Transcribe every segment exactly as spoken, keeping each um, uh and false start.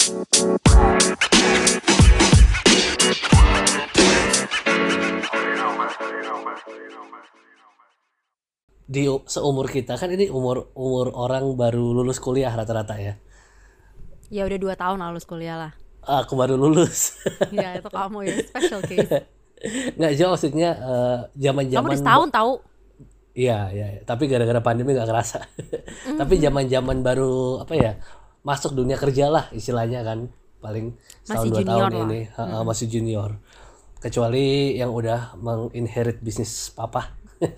Di seumur kita kan ini umur umur orang baru lulus kuliah rata-rata ya. Ya udah dua tahun lah lulus kuliah lah. Aku baru lulus. Ya itu kamu ya special case. Nggak jauh maksudnya uh, Kamu zaman-zaman. udah setahun tahu. Iya, iya, tapi gara-gara pandemi nggak kerasa. Tapi zaman-zaman baru apa ya, masuk dunia kerja lah istilahnya kan, paling setahun Masih dua junior tahun lah. ini, ha, ha, masih junior. Kecuali yang udah menginherit bisnis papa.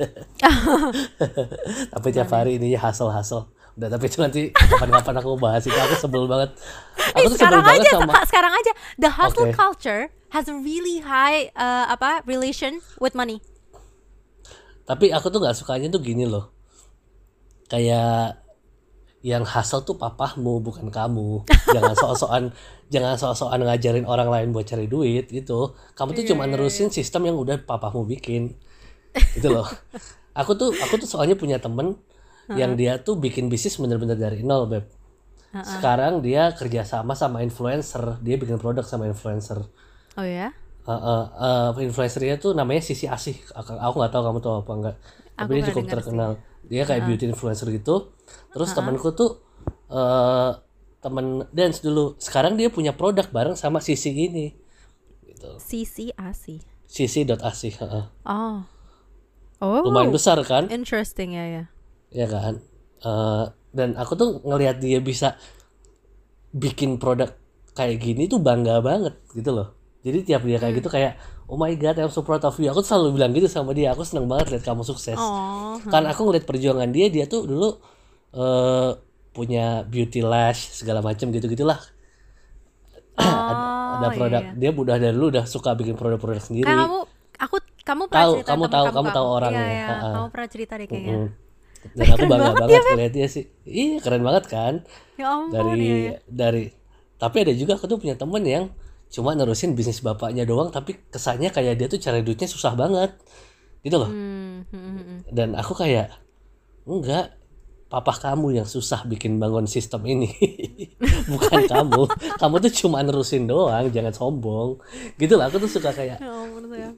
Tapi tiap hari ininya hustle-hustle. Udah, tapi itu nanti kapan-kapan aku bahas itu, aku sebel banget. Aku Eh, tuh sebel sekarang banget aja, sama. Kak, sekarang aja the hustle Oke. culture has a really high uh, apa relation with money. Tapi aku tuh nggak sukanya tuh gini loh. Kayak yang hustle tuh papahmu bukan kamu. Jangan sok-sokan jangan sok-sokan ngajarin orang lain buat cari duit gitu. Kamu tuh cuma nerusin sistem yang udah papahmu bikin. Gitu loh. Aku tuh aku tuh soalnya punya temen yang dia tuh bikin bisnis bener-bener dari nol, Beb. Sekarang dia kerja sama sama influencer, dia bikin produk sama influencer. Oh ya? Uh, uh, uh, influencernya tuh namanya Sisi Asih. Aku aku nggak tahu kamu tahu apa enggak. Tapi Aku dia pernah cukup dengar terkenal. Dia kayak beauty influencer gitu. Terus temanku tuh uh, temen dance dulu. Sekarang dia punya produk bareng sama Sisi ini. Gitu. C C Asi. Sisi.asih. Uh, Oh. Oh. lumayan besar kan? Interesting ya ya. Ya kan? Uh, dan aku tuh ngelihat dia bisa bikin produk kayak gini tuh bangga banget gitu loh. Jadi tiap dia kayak gitu kayak oh my god, I'm so proud of you. Aku tuh selalu bilang gitu sama dia. Aku seneng banget lihat kamu sukses. Oh. Kan aku ngeliat perjuangan dia, dia tuh dulu uh, punya beauty lash segala macam gitu-gitulah. ada, ada Oh, produk. iya, iya. Dia udah dari dulu udah suka bikin produk-produk sendiri. Kayak kamu aku kamu pernah Tahu, cerita kamu temen tahu, kamu, kamu kan? tahu orangnya. Iya, iya. Ha-ha. Kamu pernah cerita deh kayaknya. Mm. Dan Wih, aku keren bangga banget banget ya, Beb. ngeliat dia sih. Iya, keren banget kan? Ya ampun Dari ya, ya. dari tapi ada juga aku tuh punya temen yang cuma nerusin bisnis bapaknya doang, tapi kesannya kayak dia tuh cari duitnya susah banget. Gitu loh. Hmm, hmm, hmm, hmm. Dan aku kayak enggak, papa kamu yang susah bikin bangun sistem ini. Bukan kamu. Kamu tuh cuma nerusin doang, jangan sombong. Gitu lah, aku tuh suka kayak Ya ampun saya.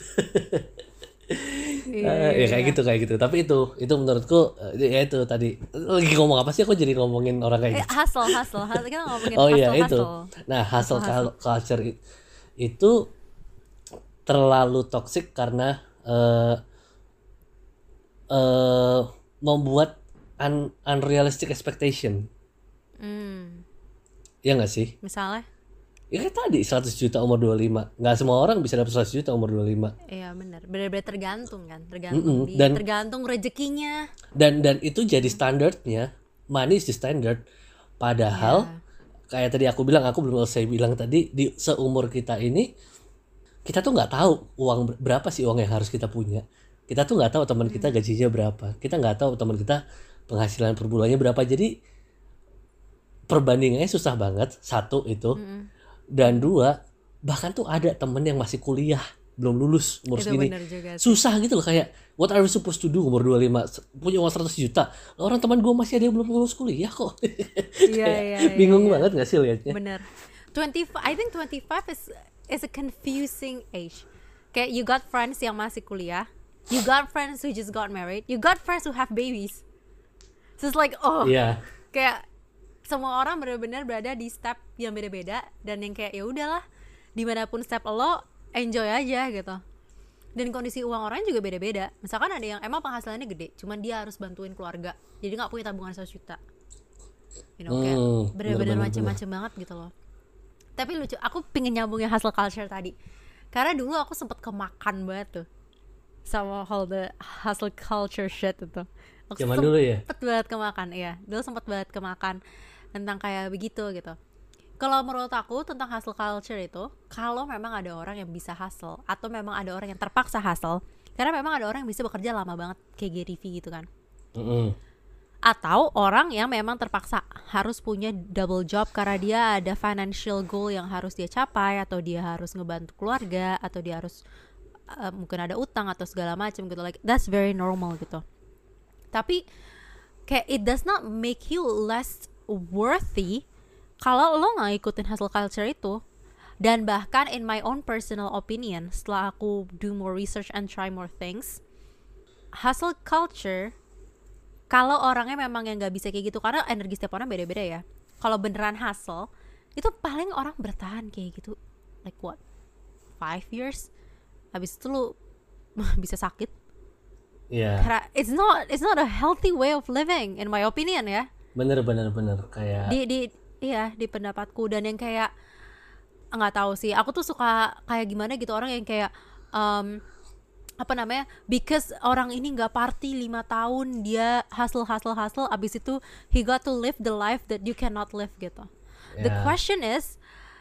eh, ya kayak gitu kayak gitu. Tapi itu itu menurutku eh, ya itu tadi lagi ngomong apa sih, aku jadi ngomongin orang kayak Eh, gitu. hustle, hustle, hustle. Kita ngomongin Oh hustle, iya itu. hustle. Nah, hustle Hustle, cul- culture i- itu terlalu toksik karena eh eh membuat un- unrealistic expectation. Hmm, Ya nggak sih? misalnya, Ya kayak tadi seratus juta umur dua puluh lima. Nggak semua orang bisa dapat seratus juta umur dua puluh lima. iya benar. Benar-benar tergantung kan, Mm-mm. tergantung di, Dan- tergantung rezekinya. Dan dan itu jadi standarnya. Money is the standard. Padahal kayak tadi aku bilang, aku belum selesai bilang tadi, di seumur kita ini kita tuh nggak tahu uang ber- berapa sih uang yang harus kita punya. Kita tuh nggak tahu teman kita gajinya berapa. Kita nggak tahu teman kita penghasilan per bulannya berapa. Jadi perbandingannya susah banget. Satu itu. Dan dua, bahkan tuh ada temen yang masih kuliah, belum lulus umur Itu segini. benar juga sih. Susah gitu loh, kayak what are we supposed to do umur dua puluh lima, S- punya uang seratus juta. Lah, orang teman gue masih ada yang belum lulus kuliah kok. Iya, Kayak iya, iya, bingung iya. banget gak sih liatnya? Bener. twenty I think twenty-five is is a confusing age. Kayak you got friends yang masih kuliah, you got friends who just got married, you got friends who have babies. So it's like oh, Iya. kayak semua orang benar-benar berada di step yang beda-beda dan yang kayak ya udahlah dimanapun step lo enjoy aja gitu. Dan kondisi uang orang juga beda-beda. Misalkan ada yang emang penghasilannya gede, cuman dia harus bantuin keluarga, jadi nggak punya tabungan seratus juta. You know, kayak Hmm, bener-bener bener-bener, macem-macem banget gitu loh. Tapi lucu, aku pengen nyambungin hustle culture tadi. Karena dulu aku sempet kemakan banget tuh sama all the hustle culture shit itu. Aku Zaman dulu ya? Sempet banget kemakan, iya. Dulu sempet banget kemakan tentang kayak begitu gitu. Kalau menurut aku tentang hustle culture itu, kalau memang ada orang yang bisa hustle atau memang ada orang yang terpaksa hustle, karena memang ada orang yang bisa bekerja lama banget kayak Gary Vee gitu kan. Mm-mm. Atau orang yang memang terpaksa harus punya double job karena dia ada financial goal yang harus dia capai, atau dia harus ngebantu keluarga, atau dia harus uh, mungkin ada utang atau segala macam gitu. Like that's very normal gitu. Tapi kayak it does not make you less worthy kalau lo nggak ikutin hustle culture itu, dan bahkan in my own personal opinion, setelah aku do more research and try more things, hustle culture, kalau orangnya memang yang nggak bisa kayak gitu, karena energi setiap orang beda-beda ya. Kalau beneran hustle, itu paling orang bertahan kayak gitu, like what, five years, habis itu lo bisa sakit. Iya. Karena it's not it's not a healthy way of living in my opinion ya. Bener bener bener kayak. Di di iya di pendapatku, dan yang kayak nggak tahu sih, aku tuh suka kayak gimana gitu orang yang kayak um, apa namanya, because orang ini nggak party lima tahun, dia hustle hustle hustle, abis itu he got to live the life that you cannot live gitu. The Yeah. question is,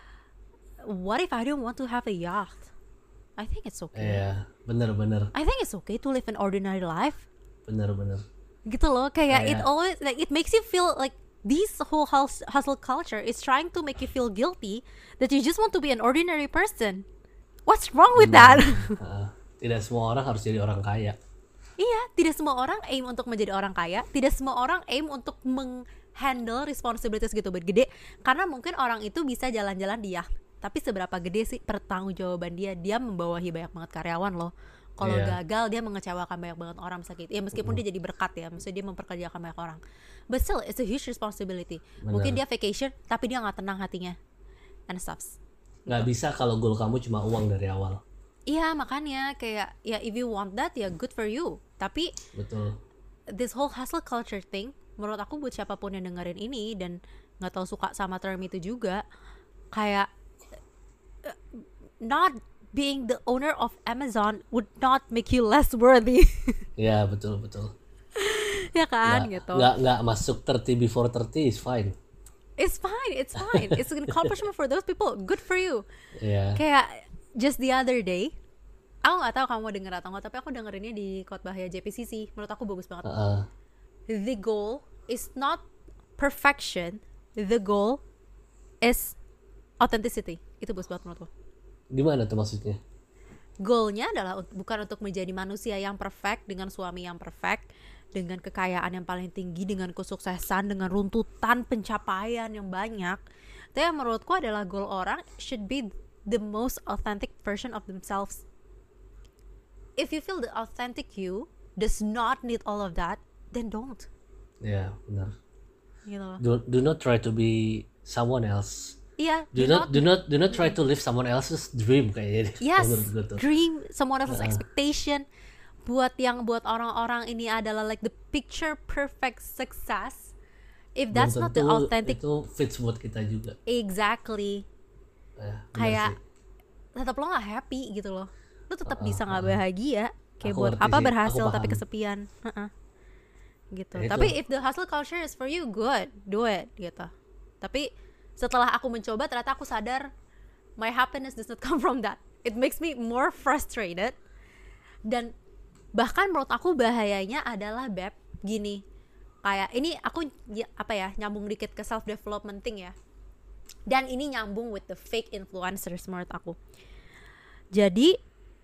what if I don't want to have a yacht? I think it's okay. Iya, bener bener I think it's okay to live an ordinary life. bener bener. Gitu loh, kayak it Kayak- always like it makes you feel like this whole hus- hustle culture is trying to make you feel guilty that you just want to be an ordinary person. What's wrong with that? Heeh. Tidak semua orang harus jadi orang kaya. Iya, tidak semua orang aim untuk menjadi orang kaya, tidak semua orang aim untuk menghandle responsibilities gitu gede, karena mungkin orang itu bisa jalan-jalan di yacht, tapi seberapa gede sih pertanggungjawaban dia? Dia membawahi banyak banget karyawan loh. Kalau Iya. gagal dia mengecewakan banyak banget orang sakit. Ya meskipun dia jadi berkat ya, maksudnya dia memperkerjakan banyak orang. But still it's a huge responsibility. Benar. Mungkin dia vacation tapi dia nggak tenang hatinya. And stuff. Nggak bisa kalau goal kamu cuma uang dari awal. Iya, makanya kayak ya if you want that ya good for you. Tapi Betul. this whole hustle culture thing, menurut aku buat siapapun yang dengerin ini dan nggak tahu suka sama term itu juga, kayak uh, not being the owner of Amazon would not make you less worthy. Iya, betul betul. Ya kan Nggak- gitu. nggak nggak masuk thirty before thirty is fine. It's fine, it's fine. It's an accomplishment for those people. Good for you. Iya. Kayak just the other day, aku nggak tahu kamu denger atau nggak, tapi aku dengerinnya di khotbahnya J P C C. Menurut aku bagus banget. Heeh. The goal is not perfection. The goal is authenticity. Itu bagus banget menurutku. Gimana tuh maksudnya? Goalnya adalah ut- bukan untuk menjadi manusia yang perfect dengan suami yang perfect, dengan kekayaan yang paling tinggi, dengan kesuksesan, dengan runtutan pencapaian yang banyak. Tapi yang menurutku adalah goal orang should be the most authentic version of themselves. If you feel the authentic you does not need all of that, then don't. Iya, benar. Gitu loh. Do, do not try to be someone else. Iya, Do not do not do not try to live someone else's dream kayaknya. yes, Menurut gue tuh. dream, someone else's expectation. Buat yang buat orang-orang ini adalah like the picture perfect success. If that's Belum not the tentu authentic, itu fits buat kita juga. exactly. Ya, benar Kayak sih. tetap lo nggak happy gitu loh. Lo tetap Uh-uh, bisa nggak bahagia. Kayak Aku buat ngerti apa sih, berhasil aku tapi paham. kesepian. Uh-uh. Gitu. Ya itu. Tapi if the hustle culture is for you, good, do it gitu. Tapi setelah aku mencoba, ternyata aku sadar my happiness does not come from that. It makes me more frustrated. Dan bahkan menurut aku bahayanya adalah Beb, gini. Kayak ini aku ya, apa ya, nyambung dikit ke self development thing ya. Dan ini nyambung with the fake influencers menurut aku. Jadi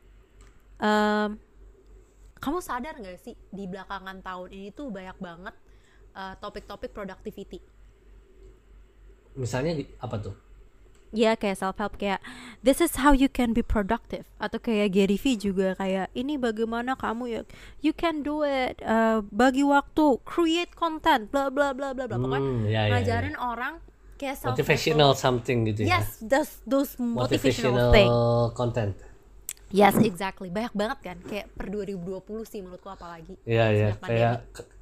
um, kamu sadar gak sih di belakangan tahun ini tuh banyak banget uh, topik-topik productivity. Misalnya di- apa tuh? Ya kayak self help, kayak this is how you can be productive, atau kayak Gary V juga kayak ini bagaimana kamu ya you can do it, uh, bagi waktu, create content, bla bla bla bla bla. Pokoknya Hmm, ya, ya, ngajarin ya. orang kayak self Motivational something gitu ya. yes, those those motivational, Motivational thing. content. Yes, exactly. Banyak banget kan, kayak per dua ribu dua puluh sih menurutku apalagi. Iya ya, Sejak kayak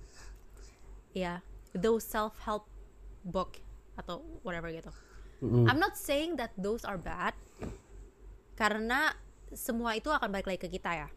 Ya, those self help book atau whatever gitu. mm, I'm not saying that those are bad, karena semua itu akan balik lagi ke kita ya.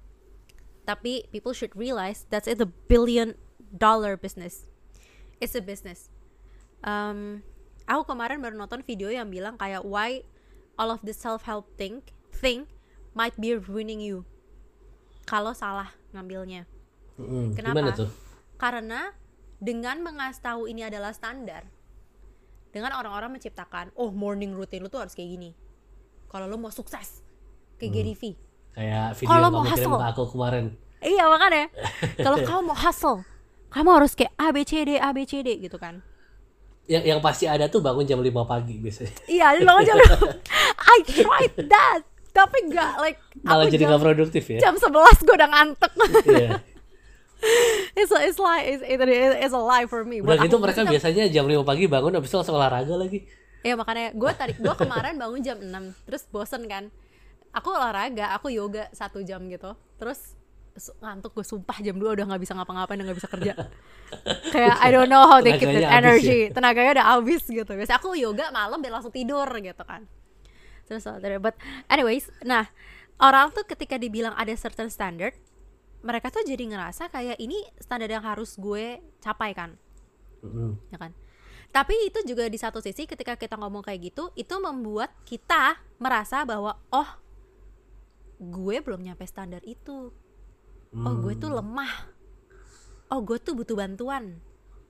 Tapi people should realize that's it, a billion dollar business. It's a business. Um, aku kemarin baru nonton video yang bilang kayak why all of the self help thing thing might be ruining you kalau salah ngambilnya. mm, Kenapa? gimana tuh? Karena dengan mengasih tahu ini adalah standar, dengan orang-orang menciptakan, oh morning routine lu tuh harus kayak gini. Kalau lu mau sukses, kayak Gary V. Kayak video Kalau yang mau kamu kirim hustle. ke aku kemarin. Iya makanya, kalau kamu mau hustle, kamu harus kayak A B C D A B C D gitu kan. yang yang pasti ada tuh bangun jam lima pagi biasanya. Iya, bangun jam I tried that. Tapi enggak like Malah aku jadi jam, nggak produktif ya. jam sebelas gue udah ngantuk. Iya. it's a, it's like it's, it, it's a lie for me. Udah Buat gitu aku, mereka maksudnya- biasanya jam lima pagi bangun habis itu langsung olahraga lagi. Iya makanya gue tadi gue kemarin bangun jam enam terus bosen kan. Aku olahraga, aku yoga satu jam gitu. Terus su- ngantuk gue sumpah jam dua udah nggak bisa ngapa-ngapain dan nggak bisa kerja. Kayak I don't know how they keep that Tenaganya habis energy. Tenaganya udah habis gitu. Biasanya aku yoga malam biar langsung tidur gitu kan. Terus but anyways, nah orang tuh ketika dibilang ada certain standard, mereka tuh jadi ngerasa kayak ini standar yang harus gue capai kan. Mm-mm. Ya kan. Tapi itu juga di satu sisi ketika kita ngomong kayak gitu, itu membuat kita merasa bahwa oh, gue belum nyampe standar itu. Oh, gue tuh lemah. Oh, gue tuh butuh bantuan.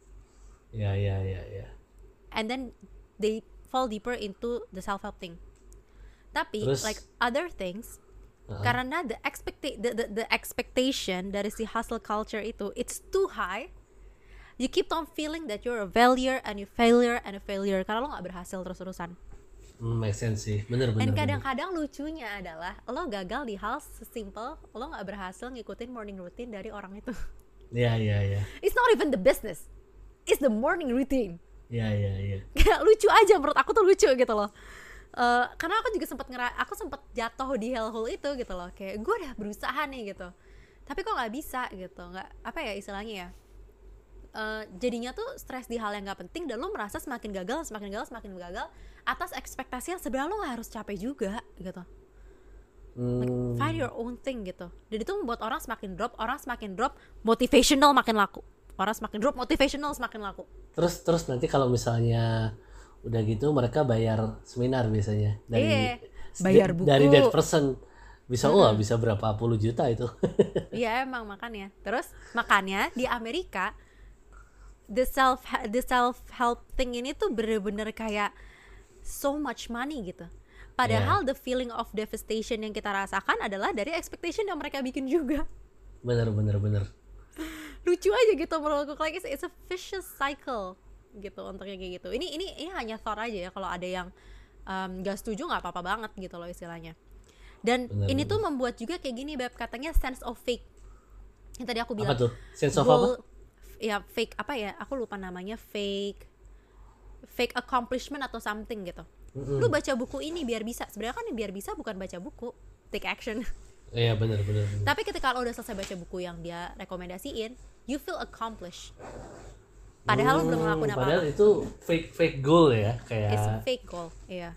Ya ya ya ya. And then they fall deeper into the self-help thing. Tapi Terus? like other things, Uh-huh. karena the expecta- the, the, the expectation dari si hustle culture itu it's too high. You keep on feeling that you're a failure and you failure and a failure karena lo gak berhasil terus-terusan. Hmm, make sense sih. Bener bener. Dan bener. kadang-kadang lucunya adalah lo gagal di hal sesimpel lo gak berhasil ngikutin morning routine dari orang itu. Ya ya ya. It's not even the business, it's the morning routine. Ya ya ya. Kayak lucu aja menurut aku tuh lucu gitu loh. Uh, karena aku juga sempat ngera aku sempat jatuh di hellhole itu gitu loh, kayak gue udah berusaha nih gitu tapi kok nggak bisa gitu, nggak apa ya istilahnya ya, uh, jadinya tuh stres di hal yang nggak penting dan lo merasa semakin gagal semakin gagal semakin gagal atas ekspektasi yang sebenarnya lo nggak harus capek juga gitu. Like, Hmm, find your own thing gitu. Dan itu membuat orang semakin drop, orang semakin drop, motivational makin laku. Orang semakin drop, motivational semakin laku. terus terus nanti kalau misalnya udah gitu mereka bayar seminar biasanya dari Iya, bayar buku. dari that person bisa wah bisa berapa puluh juta itu. Iya emang makanya. Terus makanya di Amerika the self the self help thing ini tuh bener-bener kayak so much money gitu. Padahal the feeling of devastation yang kita rasakan adalah dari expectation yang mereka bikin juga. Bener bener bener. Lucu aja gitu menurut aku, like it's, it's a vicious cycle gitu untuk yang kayak gitu. Ini ini ini hanya thought aja ya, kalau ada yang um, gak setuju nggak apa-apa banget gitu loh istilahnya. Dan Bener, ini bener. tuh membuat juga kayak gini Beb, katanya sense of fake. Yang tadi aku bilang. Apa tuh? Sense of goal- apa? Ya fake apa ya? Aku lupa namanya, fake fake accomplishment atau something gitu. Mm-mm. Lu baca buku ini biar bisa. Sebenarnya kan biar bisa bukan baca buku, take action. Iya bener bener. bener. Tapi ketika lo udah selesai baca buku yang dia rekomendasiin, you feel accomplished. Padahal lo belum ngelakuin Hmm, Padahal apa-apa. itu fake fake goal ya kayak. It's a fake goal, iya.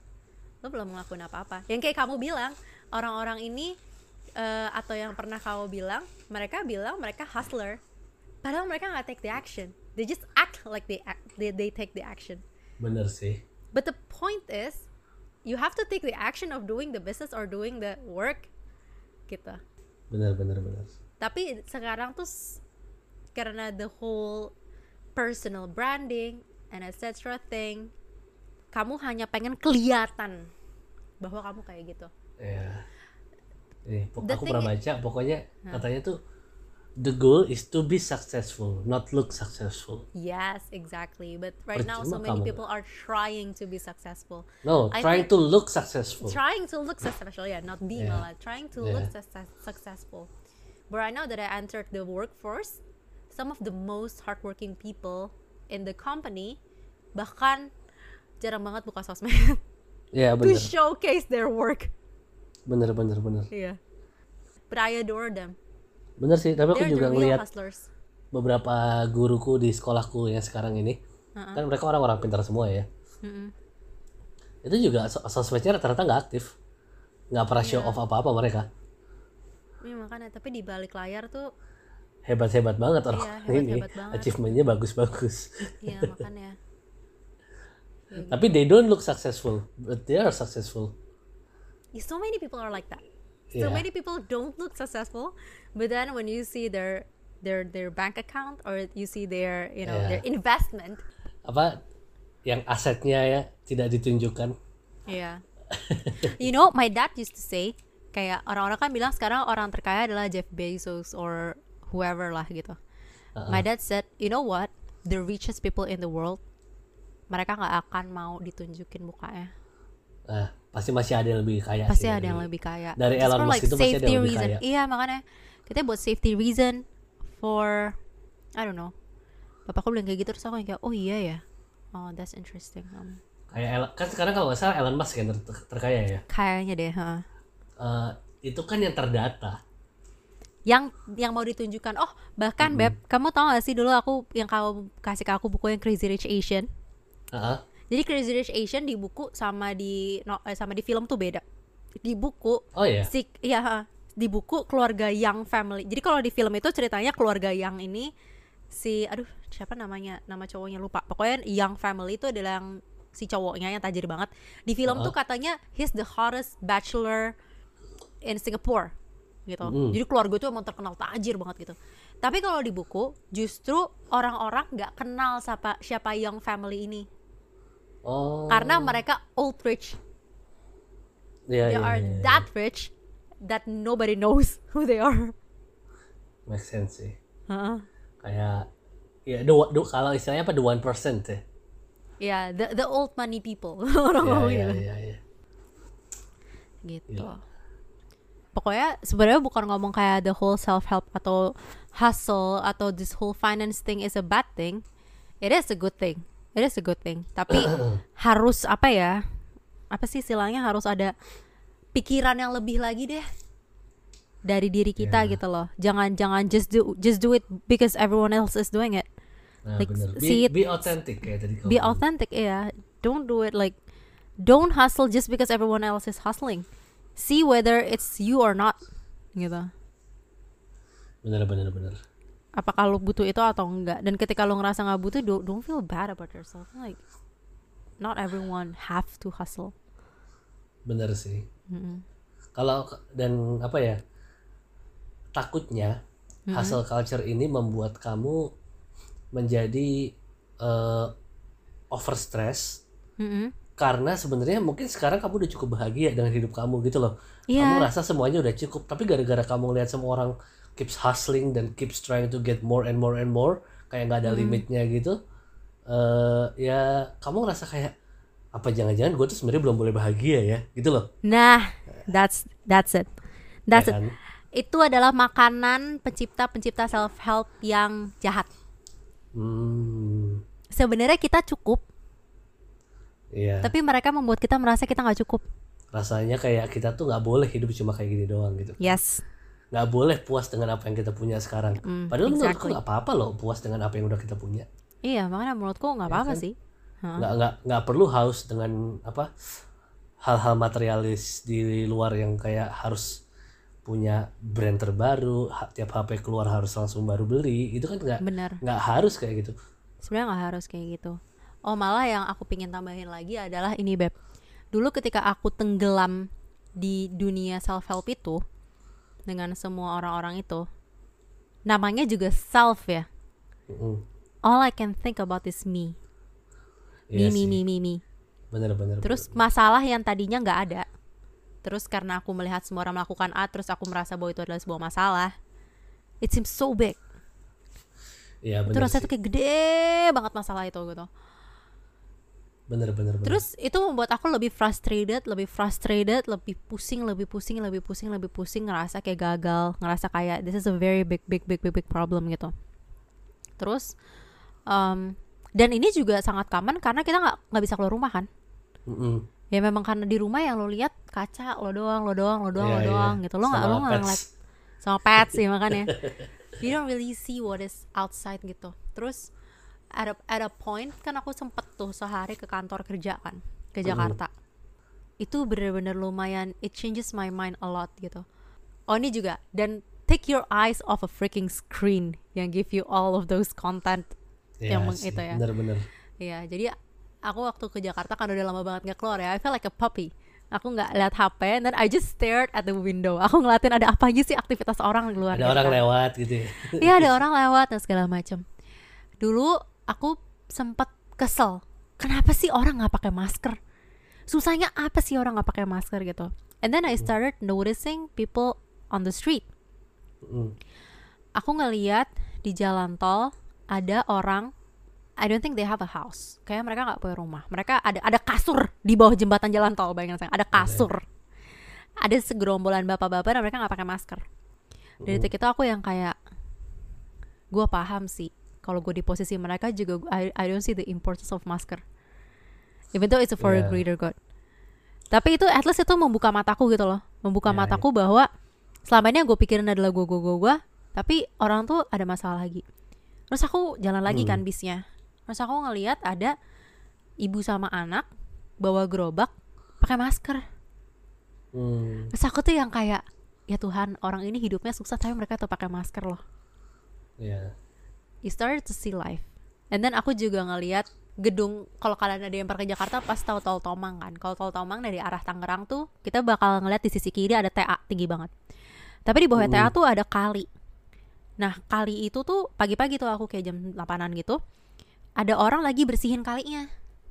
Lo belum ngelakuin apa-apa. Yang kayak kamu bilang, orang-orang ini uh, atau yang pernah kamu bilang, mereka bilang mereka hustler. Padahal mereka nggak take the action. They just act like they act, they they take the action. Bener sih. But the point is, you have to take the action of doing the business or doing the work, gitu. Bener bener bener. Tapi sekarang tuh s- karena the whole personal branding and et cetera thing, kamu hanya pengen kelihatan bahwa kamu kayak gitu. Ya. Nih, pok- The aku thing pernah i- baca pokoknya katanya tuh the goal is to be successful, not look successful. Yes, exactly. But right now so Percuma many kamu. people are trying to be successful. No, I trying think- to look successful. Trying to look successful, yeah, not be Yeah. malah. Trying to look Yeah. success- successful. But right now that I entered the workforce, some of the most hardworking people in the company bahkan jarang banget buka sosmed Ya to bener, showcase their work. bener bener bener. Yeah. But I adore them. Bener sih, tapi aku They're juga the real ngeliat hustlers. beberapa guruku di sekolahku yang sekarang ini, Uh-uh. kan mereka orang-orang pintar semua ya. Mm-mm. Itu juga sos- sosmednya rata-rata nggak aktif, nggak pernah show Iya. off apa-apa mereka. Iya, makanya tapi di balik layar tuh, Hebat-hebat banget orang Iya, ini, hebat-hebat banget. achievementnya bagus-bagus. iya makanya. Tapi they don't look successful, but they are successful. So many people are like that. So Yeah. many people don't look successful, but then when you see their their their bank account or you see their you know Yeah. their investment, Apa yang asetnya ya tidak ditunjukkan. yeah. You know, my dad used to say, kayak orang-orang kan bilang sekarang orang terkaya adalah Jeff Bezos or whoever lah gitu. Uh-uh. My dad said, you know what? The richest people in the world mereka nggak akan mau ditunjukin mukanya. Nah, pasti masih ada yang lebih kaya Pasti sih ada dari, yang lebih kaya. dari Just Elon for Musk like itu pasti ada safety yang lebih reason. kaya. Iya makanya kita buat safety reason for I don't know. Bapakku bilang kayak gitu terus aku kayak oh iya ya. Oh that's interesting. Um, Kayak Elon, kan sekarang kalau nggak salah Elon Musk yang ter- ter- terkaya ya. kayaknya deh. Huh. Uh, itu kan yang terdata. Yang yang mau ditunjukkan. Oh bahkan Mm-mm. Beb, kamu tau gak sih dulu aku yang kamu kasih ke aku buku yang Crazy Rich Asian. Uh-huh. Jadi Crazy Rich Asian di buku sama di no, eh, sama di film tuh beda. Di buku Oh ya. si ya ha, di buku keluarga Yang family. Jadi kalau di film itu ceritanya keluarga Yang ini si aduh siapa namanya? Nama cowoknya lupa. Pokoknya Yang family itu adalah yang si cowoknya yang tajir banget. Di film Uh-huh. tuh katanya he's the hottest bachelor in Singapore gitu. Mm-hmm. Jadi keluarga itu emang terkenal tajir banget gitu. Tapi kalau di buku justru orang-orang nggak kenal siapa siapa Yang family ini. Oh. Karena mereka old rich. Ya, They ya, are ya, ya. that rich that nobody knows who they are. Make sense sih. Heeh. Kayak ya the, the, kalau istilahnya apa the one percent ya. Ya, the the old money people. Orang Ya, ngomong ya, gitu. ya, ya. Gitu. Gila. Pokoknya sebenarnya bukan ngomong kayak the whole self help atau hustle atau this whole finance thing is a bad thing. It is a good thing. It is a good thing. Tapi harus apa ya? Apa sih istilahnya harus ada pikiran yang lebih lagi deh dari diri kita Yeah. gitu loh. Jangan jangan just do just do it because everyone else is doing it. Nah, Like, bener. see Be, it- be authentic kayak tadi kamu Be bilang. authentic, yeah. Don't do it like don't hustle just because everyone else is hustling. See whether it's you or not gitu. Bener, bener, bener. Apakah lo butuh itu atau enggak? Dan ketika lo ngerasa nggak butuh, don't, don't feel bad about yourself. Like not everyone have to hustle. Bener sih. Mm-mm. Kalau dan apa ya? Takutnya hustle culture ini membuat kamu menjadi uh, over stress Mm-mm. karena sebenarnya mungkin sekarang kamu udah cukup bahagia dengan hidup kamu gitu loh. Iya. Kamu rasa semuanya udah cukup, tapi gara-gara kamu lihat semua orang keeps hustling dan keeps trying to get more and more and more, kayak nggak ada limitnya gitu. Uh, ya kamu ngerasa kayak apa jangan-jangan gue tuh sebenarnya belum boleh bahagia ya gitu loh. Nah, that's that's it. That's Ya it. kan? Itu adalah makanan pencipta-pencipta self help yang jahat. Hmm, Sebenarnya kita cukup, iya. tapi mereka membuat kita merasa kita nggak cukup. Rasanya kayak kita tuh nggak boleh hidup cuma kayak gini doang gitu. Yes. Nggak boleh puas dengan apa yang kita punya sekarang. Mm, Padahal menurutku exactly. nggak apa-apa loh puas dengan apa yang udah kita punya. Iya, makanya menurutku nggak apa-apa kan? sih. Hah? Nggak nggak nggak perlu haus dengan apa hal-hal materialis di luar yang kayak harus punya brand terbaru, ha- tiap H P keluar harus langsung baru beli. Itu kan nggak Bener. nggak harus kayak gitu. Sebenarnya nggak harus kayak gitu. Oh malah yang aku pingin tambahin lagi adalah ini Beb. Dulu ketika aku tenggelam di dunia self help itu dengan semua orang-orang itu, namanya juga self ya. Mm-mm. All I can think about is me. Iya Me, me, sih. me, me, me. Bener-bener. Terus masalah yang tadinya nggak ada. Terus karena aku melihat semua orang melakukan A, terus aku merasa bahwa itu adalah sebuah masalah. It seems so big. Iya Itu bener rasanya sih. tuh kayak gede banget masalah itu gitu. Bener-bener. Terus itu membuat aku lebih frustrated, lebih frustrated, lebih pusing, lebih pusing, lebih pusing, lebih pusing, ngerasa kayak gagal, ngerasa kayak this is a very big, big, big, big, big problem gitu. Terus, um, dan ini juga sangat common karena kita nggak nggak bisa keluar rumah kan? Mm-mm. Ya memang karena di rumah yang lo lihat kaca, lo doang, lo doang, lo doang, Iya, lo iya. doang gitu. Lo nggak Sama lo nggak pets. ngeliat sama pets sih makanya. You don't really see what is outside gitu. Terus at a, at a point kan aku sempet tuh sehari ke kantor kerja kan ke Jakarta. Itu bener-bener lumayan, it changes my mind a lot gitu. Oh ini juga, dan take your eyes off a freaking screen yang give you all of those content Iya yang meng- sih, itu ya. Bener-bener. Iya, jadi aku waktu ke Jakarta kan udah lama banget nggak keluar ya. I felt like a puppy. Aku nggak lihat H P, and then I just stared at the window. Aku ngeliatin ada apa aja sih aktivitas orang di luar. Ada gitu orang kan. lewat gitu ya. Iya, ada orang lewat dan segala macam. Dulu aku sempat kesel. Kenapa sih orang nggak pakai masker? Susahnya apa sih orang nggak pakai masker gitu? And then I started noticing people on the street. Mm. Aku ngeliat di jalan tol ada orang I don't think they have a house. Kayak mereka nggak punya rumah. Mereka ada ada kasur di bawah jembatan jalan tol, bayangin saya. Ada kasur. Okay. Ada segerombolan bapak-bapak dan mereka nggak pakai masker. Dari detik itu aku yang kayak, gue paham sih. Kalau gue di posisi mereka juga, I, I don't see the importance of masker. Even though it's for yeah. a greater good. Tapi itu at least itu membuka mataku gitu loh. Membuka yeah, mataku yeah. bahwa selama ini yang gue pikirin adalah gue, gue, gue, gue. Tapi orang tuh ada masalah lagi. Terus aku jalan lagi hmm. kan bisnya. Terus aku ngelihat ada ibu sama anak bawa gerobak pakai masker. Hmm. Terus aku tuh yang kayak, ya Tuhan, orang ini hidupnya susah tapi mereka tuh pakai masker loh. Yeah. You started to see life. And then aku juga ngelihat gedung, kalau kalian ada yang pergi Jakarta pas tahu tol Tomang kan. Kalau tol Tomang dari arah Tangerang tuh kita bakal ngeliat di sisi kiri ada T A tinggi banget. Tapi di bawah hmm. T A tuh ada kali. Nah kali itu tuh pagi-pagi tuh aku kayak jam delapanan gitu, ada orang lagi bersihin kalinya.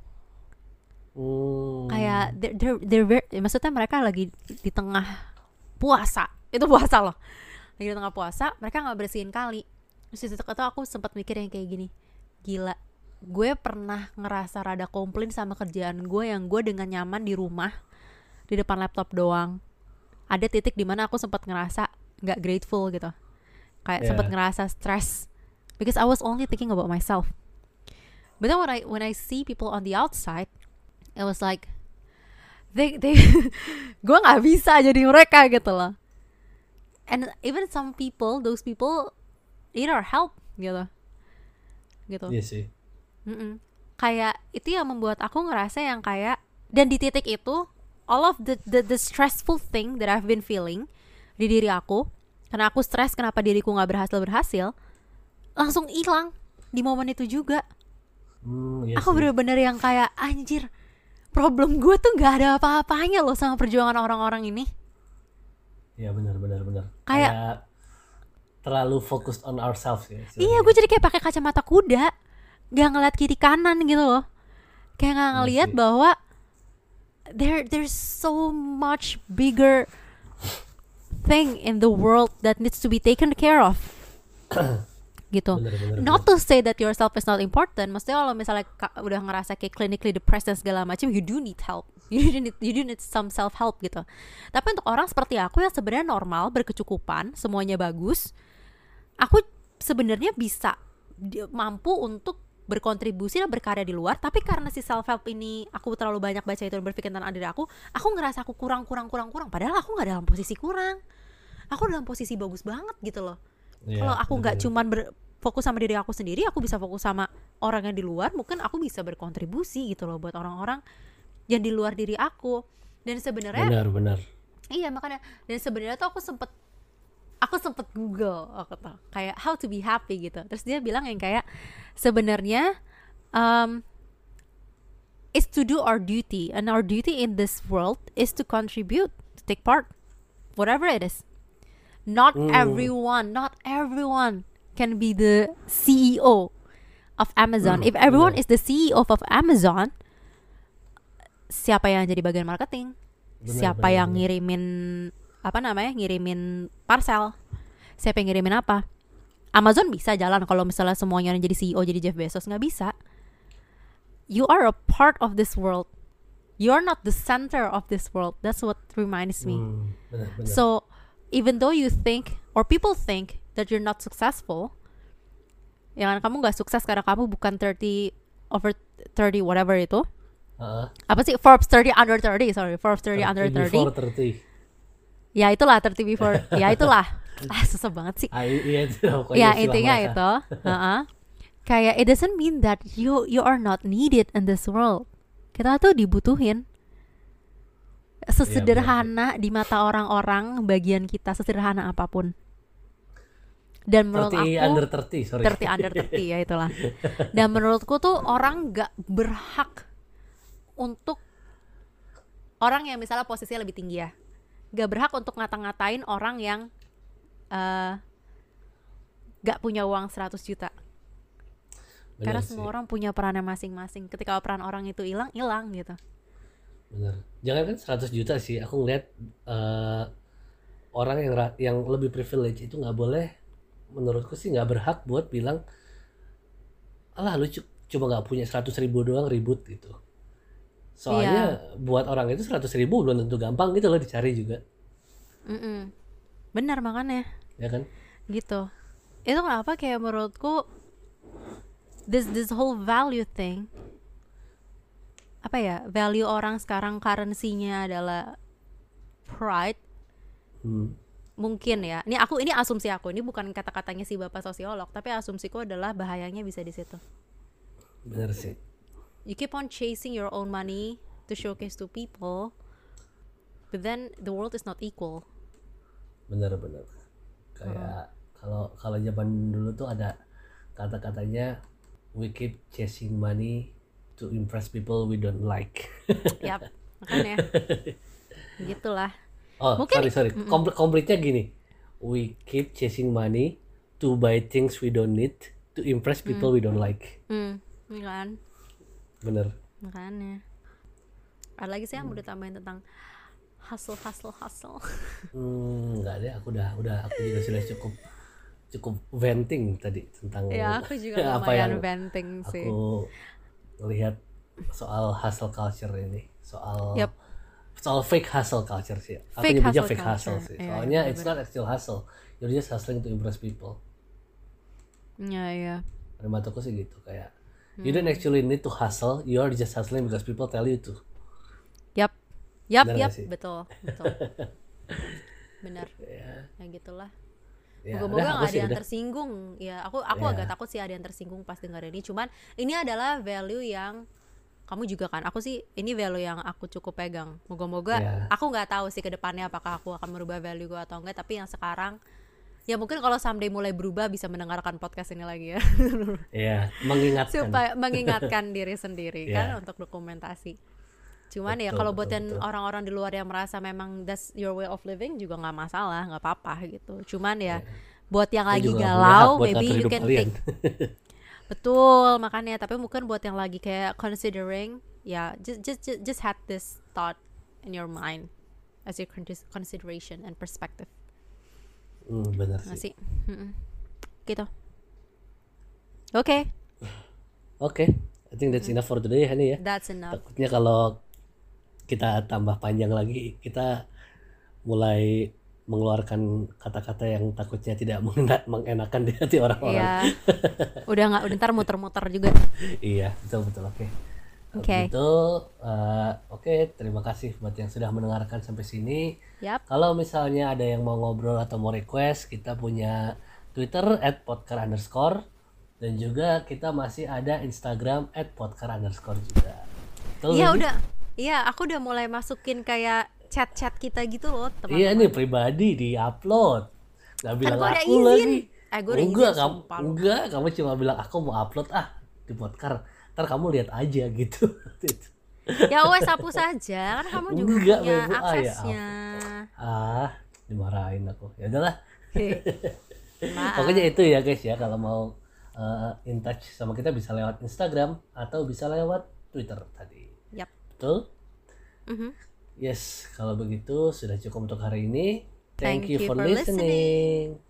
Hmm. Kayak they're, they're, they're very, maksudnya mereka lagi di tengah puasa. Itu puasa loh. Lagi di tengah puasa, mereka gak bersihin kali. Terus di situ aku sempat mikir yang kayak gini, gila, gue pernah ngerasa rada komplain sama kerjaan gue yang gue dengan nyaman di rumah di depan laptop doang. Ada titik dimana aku sempat ngerasa gak grateful gitu, kayak yeah. sempat ngerasa stress because I was only thinking about myself. But then when I when I see people on the outside, it was like they they gue nggak bisa jadi mereka gitu loh. And even some people, those people need our help gitu, gitu. Iya sih. Mm-mm. Kayak itu yang membuat aku ngerasa yang kayak, dan di titik itu all of the the, the stressful thing that I've been feeling di diri aku, karena aku stres kenapa diriku nggak berhasil berhasil, langsung hilang di momen itu juga. Hmm, iya aku sih. bener-bener yang kayak anjir, problem gue tuh nggak ada apa-apanya loh sama perjuangan orang-orang ini. Iya benar benar benar. Kayak, kayak terlalu focused on ourselves ya. Iya, gue jadi kayak pakai kacamata kuda, gak ngeliat kiri kanan gitu loh. Kayak gak ngeliat ya bahwa there there's so much bigger thing in the world that needs to be taken care of. Gitu. Bener, bener, not bener. to say that yourself is not important. Maksudnya kalau misalnya ka- udah ngerasa kayak clinically depressed dan segala macam, you do need help. You do need, you do need some self help gitu. Tapi untuk orang seperti aku yang sebenarnya normal, berkecukupan, semuanya bagus, aku sebenarnya bisa di, mampu untuk berkontribusi dan berkarya di luar. Tapi karena si self help ini aku terlalu banyak baca itu dan berpikir tentang diri aku, aku ngerasa aku kurang kurang kurang kurang. Padahal aku nggak dalam posisi kurang. Aku dalam posisi bagus banget gitu loh. Yeah, kalau aku nggak cuman berfokus sama diri aku sendiri, aku bisa fokus sama orang yang di luar. Mungkin aku bisa berkontribusi gitu loh buat orang-orang yang di luar diri aku. Dan sebenarnya benar-benar. Iya makanya. Dan sebenarnya tuh aku sempet aku sempet Google aku tuh kayak how to be happy gitu. Terus dia bilang yang kayak sebenarnya um, is to do our duty, and our duty in this world is to contribute, to take part, whatever it is. Not mm. everyone, not everyone can be the C E O of Amazon. Mm, If everyone bener. is the C E O of Amazon, siapa yang jadi bagian marketing? Bener, siapa bener, yang bener. ngirimin apa namanya? ngirimin parcel? Siapa yang ngirimin apa? Amazon bisa jalan kalau misalnya semuanya yang jadi C E O jadi Jeff Bezos, nggak bisa. You are a part of this world. You're not the center of this world. That's what reminds me. Mm, bener, bener. So even though you think or people think that you're not successful, yang kamu nggak sukses karena kamu bukan thirty over thirty whatever itu, uh, apa sih Forbes thirty under thirty, sorry Forbes thirty under thirty, before thirty, ya itulah thirty before, ya itulah, ah susah banget sih, ah, iya, itu, ya intinya masa. itu, uh-uh. Kayak it doesn't mean that you you are not needed in this world. Kita tuh dibutuhin. Sesederhana ya, di mata orang-orang bagian kita, sesederhana apapun. Dan menurut thirty aku under thirty, sorry. thirty under thirty ya itulah. Dan menurutku tuh orang gak berhak untuk orang yang misalnya posisinya lebih tinggi ya, gak berhak untuk ngata-ngatain orang yang uh, gak punya uang seratus juta. Bener Karena sih. Semua orang punya perannya masing-masing. Ketika peran orang itu hilang, hilang gitu. Benar. Jangan kan seratus juta sih. Aku ngeliat uh, orang yang yang lebih privilege itu nggak boleh, menurutku sih nggak berhak buat bilang, alah lu cuma nggak punya seratus ribu doang ribut gitu. Soalnya buat orang itu seratus ribu belum tentu gampang gitu loh dicari juga. Mm-mm. Benar makanya Ya kan? gitu. Itu kenapa kayak menurutku this this whole value thing, apa ya, value orang sekarang currency-nya adalah pride. Hmm. Mungkin ya, ini aku ini asumsi aku, ini bukan kata-katanya si bapak sosiolog, tapi asumsiku adalah bahayanya bisa di situ. Bener sih. You keep on chasing your own money to showcase to people, but then the world is not equal. Bener-bener. Kayak kalau hmm. kalau zaman dulu tuh ada kata-katanya, we keep chasing money to impress people we don't like. Yap, makanya gitulah. Oh, mungkin, sorry sorry. Komplit komplitnya gini, we keep chasing money to buy things we don't need to impress people mm. we don't like. Hmm, kan? Bener. Makanya. Ada lagi sih yang udah tambahin tentang hustle hustle hustle. Hmm, nggak deh, aku udah udah aku juga sudah cukup cukup venting tadi tentang ya, aku juga apa yang venting sih. Aku lihat soal hustle culture ini, soal yep. soal fake hustle culture sih. Aku fake nyebutnya hustle fake hustle sih. Yeah, Soalnya yeah, it's not actual hustle. You're just hustling to impress people. Iya, yeah, iya. Yeah. Pada mataku sih gitu, kayak hmm. you don't actually need to hustle, you're just hustling because people tell you to. Yap. Yap, Benar yap, betul, betul. Benar. Ya, ya gitulah. Ya, Moga-moga udah, gak ada sih, yang udah. tersinggung. Ya, aku aku Ya. agak takut sih ada yang tersinggung pas dengar ini. Cuman ini adalah value yang kamu juga kan. Aku sih ini value yang aku cukup pegang. Moga-moga Ya. aku nggak tahu sih ke depannya apakah aku akan merubah value gue atau enggak. Tapi yang sekarang ya mungkin kalau someday mulai berubah bisa mendengarkan podcast ini lagi ya. Iya, mengingatkan. Supaya mengingatkan diri sendiri Ya. kan untuk dokumentasi. Cuman Betul, ya kalau betul, buat yang betul. orang-orang di luar yang merasa memang that's your way of living juga nggak masalah, nggak apa-apa gitu. Cuman ya, ya. buat yang Dia lagi juga galau, buat maybe ngatur you hidup can kalian. take. Betul, makanya. Tapi mungkin buat yang lagi kayak considering, ya just just just, just had this thought in your mind as your consideration and perspective. Hmm, benar sih. Masih, mm-mm. gitu. Oke. Okay. Oke, okay. I think that's enough for today, Hani ya. That's enough. Takutnya kalau kita tambah panjang lagi, kita mulai mengeluarkan kata-kata yang takutnya tidak mengenakan di hati orang-orang. Iya. Udah nggak, udah ntar muter-muter juga. Iya, betul betul. Oke. Oke. Okay. Itu, uh, oke. Okay, terima kasih buat yang sudah mendengarkan sampai sini. Yap. Kalau misalnya ada yang mau ngobrol atau mau request, kita punya Twitter at podcar underscore dan juga kita masih ada Instagram at podcar underscore juga. Iya udah. Iya, aku udah mulai masukin kayak chat-chat kita gitu loh, teman-teman. Iya nih pribadi di-upload. Gak bilang kan aku lagi. Eh, gue udah enggak, izin, kamu, sumpah. enggak, kamu cuma bilang aku mau upload ah di podcast. Ntar kamu lihat aja gitu. Ya wes hapus saja, kan kamu juga enggak, punya Bebo. aksesnya. Ah, ya, ah, dimarahin aku. Ya udahlah. Maaf. Pokoknya itu ya guys ya, kalau mau uh, in touch sama kita bisa lewat Instagram atau bisa lewat Twitter tadi. Yap. Betul? Mm-hmm. Yes, kalau begitu sudah cukup untuk hari ini. Thank, Thank you, you for, for listening. listening.